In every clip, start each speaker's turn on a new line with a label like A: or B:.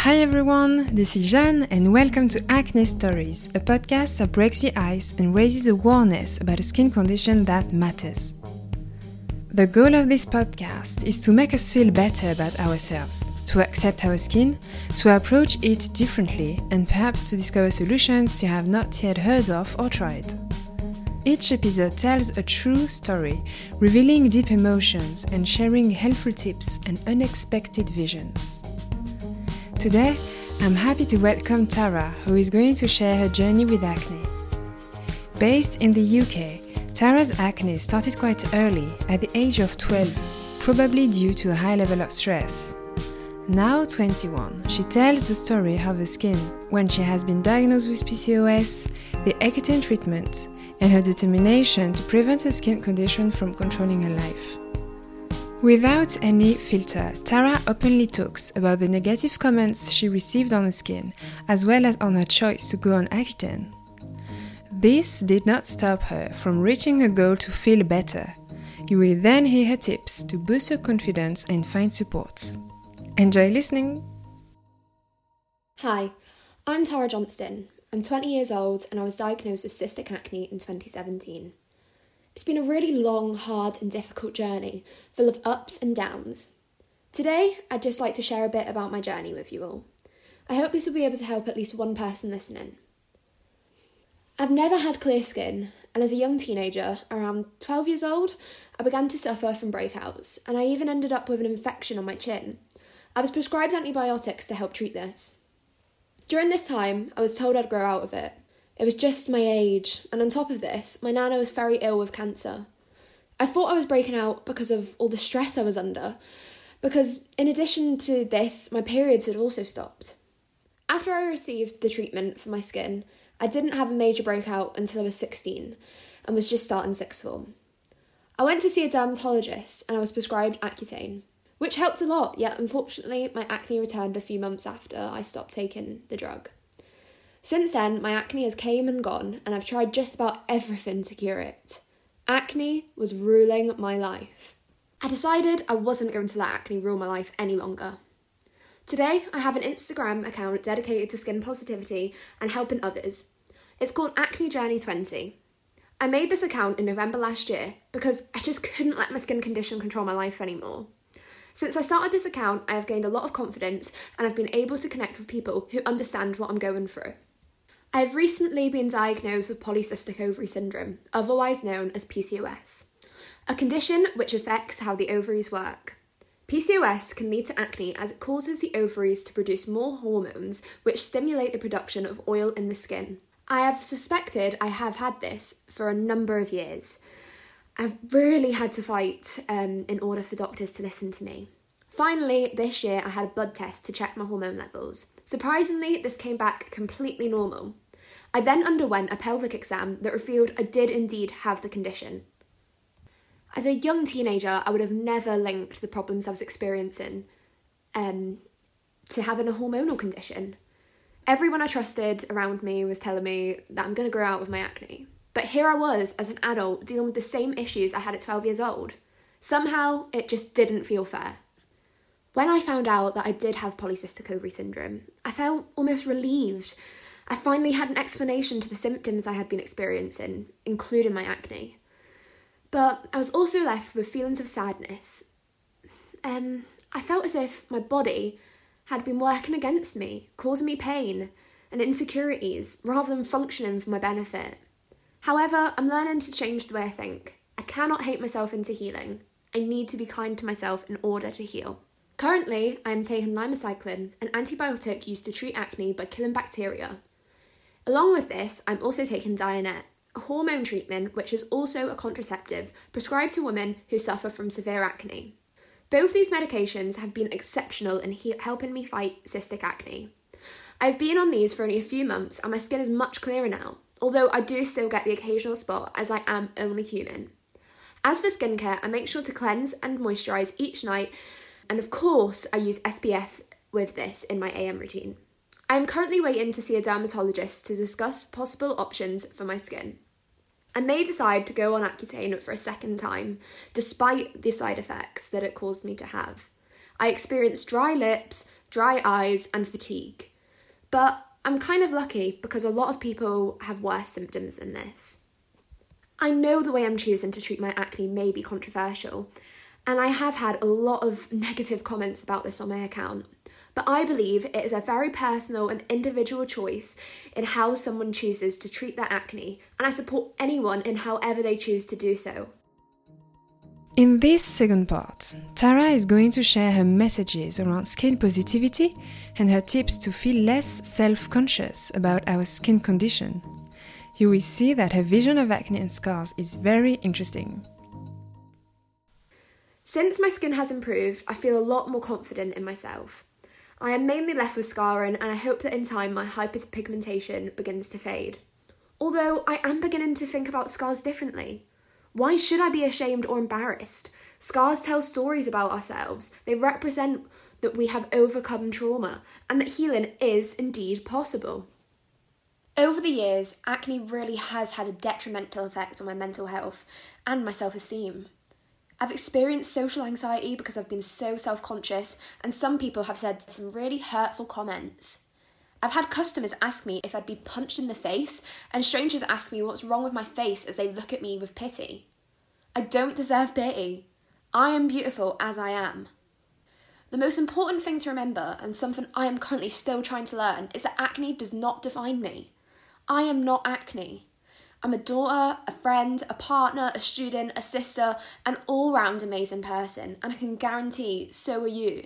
A: Hi everyone, this is Jeanne and welcome to Acne Stories, a podcast that breaks the ice and raises awareness about a skin condition that matters. The goal of this podcast is to make us feel better about ourselves, to accept our skin, to approach it differently, and perhaps to discover solutions you have not yet heard of or tried. Each episode tells a true story, revealing deep emotions and sharing helpful tips and unexpected visions. Today, I'm happy to welcome Tara, who is going to share her journey with acne. Based in the UK, Tara's acne started quite early, at the age of 12, probably due to a high level of stress. Now 21, she tells the story of her skin when she has been diagnosed with PCOS, the Accutane treatment, and her determination to prevent her skin condition from controlling her life. Without any filter, Tara openly talks about the negative comments she received on her skin, as well as on her choice to go on Accutane. This did not stop her from reaching her goal to feel better. You will then hear her tips to boost her confidence and find support. Enjoy listening!
B: Hi, I'm Tara Johnston. I'm 20 years old and I was diagnosed with cystic acne in 2017. It's been a really long, hard and difficult journey, full of ups and downs. Today, I'd just like to share a bit about my journey with you all. I hope this will be able to help at least one person listening. I've never had clear skin, and as a young teenager, around 12 years old, I began to suffer from breakouts, and I even ended up with an infection on my chin. I was prescribed antibiotics to help treat this. During this time, I was told I'd grow out of it. It was just my age, and on top of this, my nana was very ill with cancer. I thought I was breaking out because of all the stress I was under, because in addition to this, my periods had also stopped. After I received the treatment for my skin, I didn't have a major breakout until I was 16, and was just starting sixth form. I went to see a dermatologist, and I was prescribed Accutane, which helped a lot, yet unfortunately my acne returned a few months after I stopped taking the drug. Since then, my acne has came and gone, and I've tried just about everything to cure it. Acne was ruling my life. I decided I wasn't going to let acne rule my life any longer. Today, I have an Instagram account dedicated to skin positivity and helping others. It's called Acne Journey 20. I made this account in November last year because I just couldn't let my skin condition control my life anymore. Since I started this account, I have gained a lot of confidence and I've been able to connect with people who understand what I'm going through. I have recently been diagnosed with polycystic ovary syndrome, otherwise known as PCOS, a condition which affects how the ovaries work. PCOS can lead to acne as it causes the ovaries to produce more hormones which stimulate the production of oil in the skin. I have suspected I have had this for a number of years. I've really had to fight in order for doctors to listen to me. Finally, this year I had a blood test to check my hormone levels. Surprisingly, this came back completely normal. I then underwent a pelvic exam that revealed I did indeed have the condition. As a young teenager, I would have never linked the problems I was experiencing to having a hormonal condition. Everyone I trusted around me was telling me that I'm going to grow out of my acne. But here I was, as an adult, dealing with the same issues I had at 12 years old. Somehow, it just didn't feel fair. When I found out that I did have polycystic ovary syndrome, I felt almost relieved. I finally had an explanation to the symptoms I had been experiencing, including my acne. But I was also left with feelings of sadness. I felt as if my body had been working against me, causing me pain and insecurities, rather than functioning for my benefit. However, I'm learning to change the way I think. I cannot hate myself into healing. I need to be kind to myself in order to heal. Currently, I am taking limacycline, an antibiotic used to treat acne by killing bacteria. Along with this, I'm also taking Dianet, a hormone treatment which is also a contraceptive prescribed to women who suffer from severe acne. Both these medications have been exceptional in helping me fight cystic acne. I've been on these for only a few months and my skin is much clearer now, although I do still get the occasional spot as I am only human. As for skincare, I make sure to cleanse and moisturise each night, and of course I use SPF with this in my AM routine. I am currently waiting to see a dermatologist to discuss possible options for my skin. I may decide to go on Accutane for a second time, despite the side effects that it caused me to have. I experienced dry lips, dry eyes and fatigue. But I'm kind of lucky because a lot of people have worse symptoms than this. I know the way I'm choosing to treat my acne may be controversial, and I have had a lot of negative comments about this on my account, but I believe it is a very personal and individual choice in how someone chooses to treat their acne, and I support anyone in however they choose to do so.
A: In this second part, Tara is going to share her messages around skin positivity and her tips to feel less self-conscious about our skin condition. You will see that her vision of acne and scars is very interesting.
B: Since my skin has improved, I feel a lot more confident in myself. I am mainly left with scarring, and I hope that in time my hyperpigmentation begins to fade. Although I am beginning to think about scars differently. Why should I be ashamed or embarrassed? Scars tell stories about ourselves. They represent that we have overcome trauma and that healing is indeed possible. Over the years, acne really has had a detrimental effect on my mental health and my self-esteem. I've experienced social anxiety because I've been so self-conscious, and some people have said some really hurtful comments. I've had customers ask me if I'd be punched in the face, and strangers ask me what's wrong with my face as they look at me with pity. I don't deserve pity. I am beautiful as I am. The most important thing to remember, and something I am currently still trying to learn, is that acne does not define me. I am not acne. I'm a daughter, a friend, a partner, a student, a sister, an all-round amazing person, and I can guarantee so are you.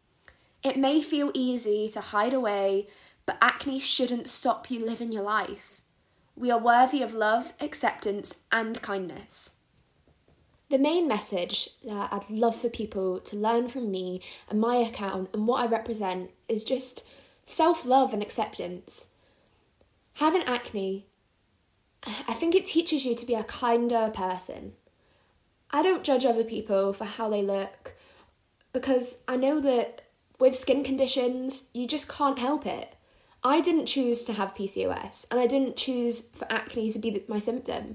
B: It may feel easy to hide away, but acne shouldn't stop you living your life. We are worthy of love, acceptance, and kindness. The main message that I'd love for people to learn from me and my account and what I represent is just self-love and acceptance. Having acne, I think it teaches you to be a kinder person. I don't judge other people for how they look because I know that with skin conditions, you just can't help it. I didn't choose to have PCOS, and I didn't choose for acne to be my symptom.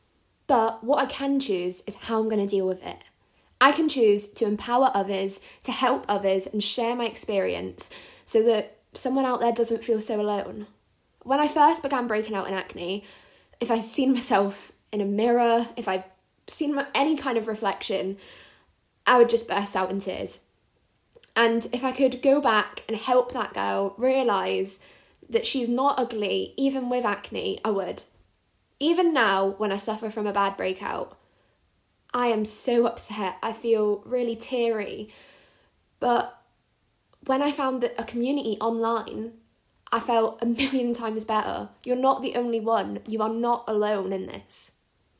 B: But what I can choose is how I'm going to deal with it. I can choose to empower others, to help others, and share my experience so that someone out there doesn't feel so alone. When I first began breaking out in acne, if I'd seen myself in a mirror, if I'd seen any kind of reflection, I would just burst out in tears. And if I could go back and help that girl realise that she's not ugly, even with acne, I would. Even now, when I suffer from a bad breakout, I am so upset. I feel really teary. But when I found a community online, I felt 1,000,000 times better. You're not the only one. You are not alone in this.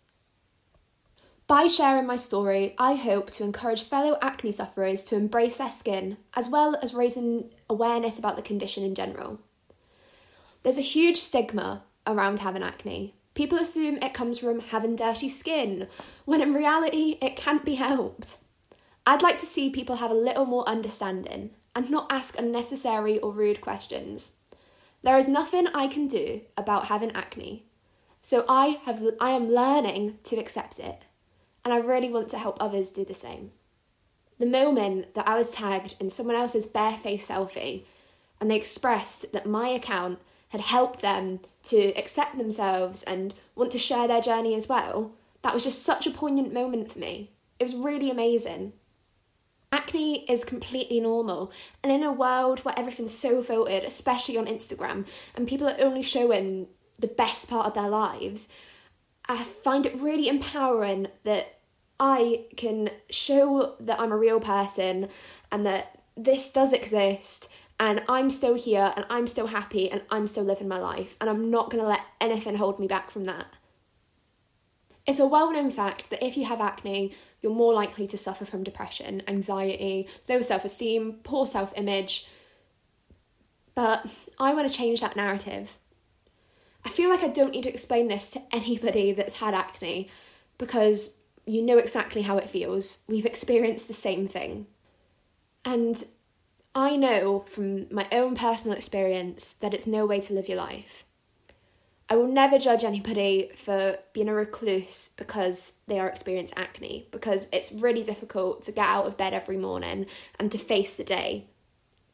B: By sharing my story, I hope to encourage fellow acne sufferers to embrace their skin, as well as raising awareness about the condition in general. There's a huge stigma around having acne. People assume it comes from having dirty skin, when in reality it can't be helped. I'd like to see people have a little more understanding and not ask unnecessary or rude questions. There is nothing I can do about having acne, so I am learning to accept it. And I really want to help others do the same. The moment that I was tagged in someone else's bare-faced selfie and they expressed that my account had helped them to accept themselves and want to share their journey as well, that was just such a poignant moment for me. It was really amazing. Acne is completely normal, and in a world where everything's so filtered, especially on Instagram, and people are only showing the best part of their lives, I find it really empowering that I can show that I'm a real person and that this does exist and I'm still here and I'm still happy and I'm still living my life, and I'm not going to let anything hold me back from that. It's a well-known fact that if you have acne, you're more likely to suffer from depression, anxiety, low self-esteem, poor self-image. But I want to change that narrative. I feel like I don't need to explain this to anybody that's had acne because you know exactly how it feels. We've experienced the same thing. And I know from my own personal experience that it's no way to live your life. I will never judge anybody for being a recluse because they are experiencing acne, because it's really difficult to get out of bed every morning and to face the day.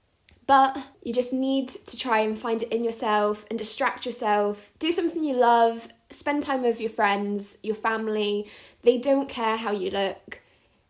B: But you just need to try and find it in yourself and distract yourself. Do something you love. Spend time with your friends, your family. They don't care how you look.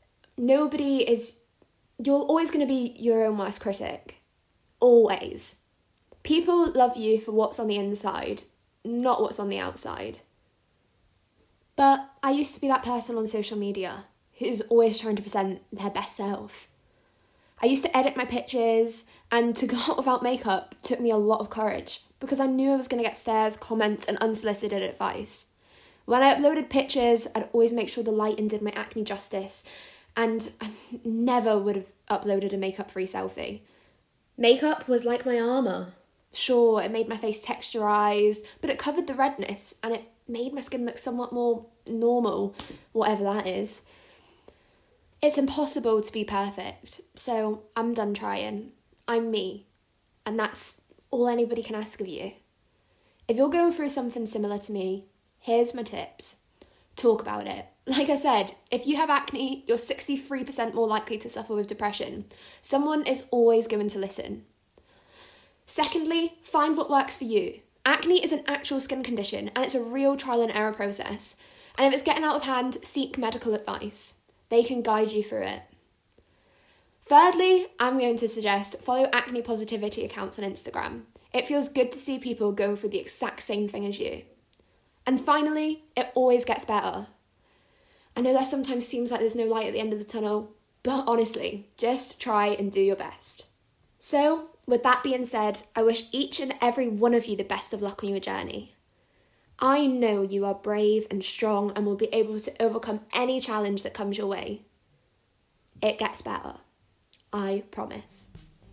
B: You're always going to be your own worst critic. Always. People love you for what's on the inside, not what's on the outside. But I used to be that person on social media who's always trying to present their best self. I used to edit my pictures, and to go out without makeup took me a lot of courage because I knew I was going to get stares, comments, and unsolicited advice. When I uploaded pictures, I'd always make sure the lighting did my acne justice, and I never would have uploaded a makeup-free selfie. Makeup was like my armour. Sure, it made my face texturised, but it covered the redness, and it made my skin look somewhat more normal, whatever that is. It's impossible to be perfect, so I'm done trying. I'm me, and that's all anybody can ask of you. If you're going through something similar to me, here's my tips. Talk about it. Like I said, if you have acne, you're 63% more likely to suffer with depression. Someone is always going to listen. Secondly, find what works for you. Acne is an actual skin condition, and it's a real trial and error process. And if it's getting out of hand, seek medical advice. They can guide you through it. Thirdly, I'm going to suggest follow acne positivity accounts on Instagram. It feels good to see people going through the exact same thing as you. And finally, it always gets better. I know that sometimes seems like there's no light at the end of the tunnel, but honestly, just try and do your best. So, with that being said, I wish each and every one of you the best of luck on your journey. I know you are brave and strong and will be able to overcome any challenge that comes your way. It gets better. I promise.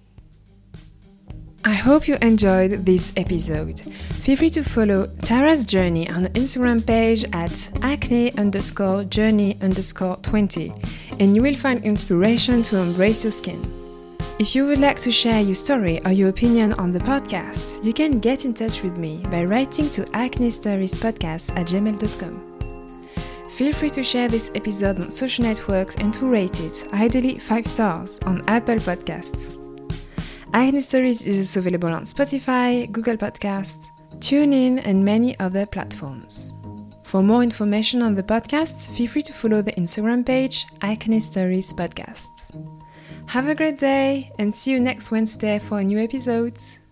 A: I hope you enjoyed this episode. Feel free to follow Tara's journey on the Instagram page at acne_journey_20 and you will find inspiration to embrace your skin. If you would like to share your story or your opinion on the podcast, you can get in touch with me by writing to acnestoriespodcast@gmail.com. Feel free to share this episode on social networks and to rate it, ideally 5 stars, on Apple Podcasts. Acne Stories is also available on Spotify, Google Podcasts, TuneIn, and many other platforms. For more information on the podcast, feel free to follow the Instagram page Acne Stories Podcast. Have a great day and see you next Wednesday for a new episode.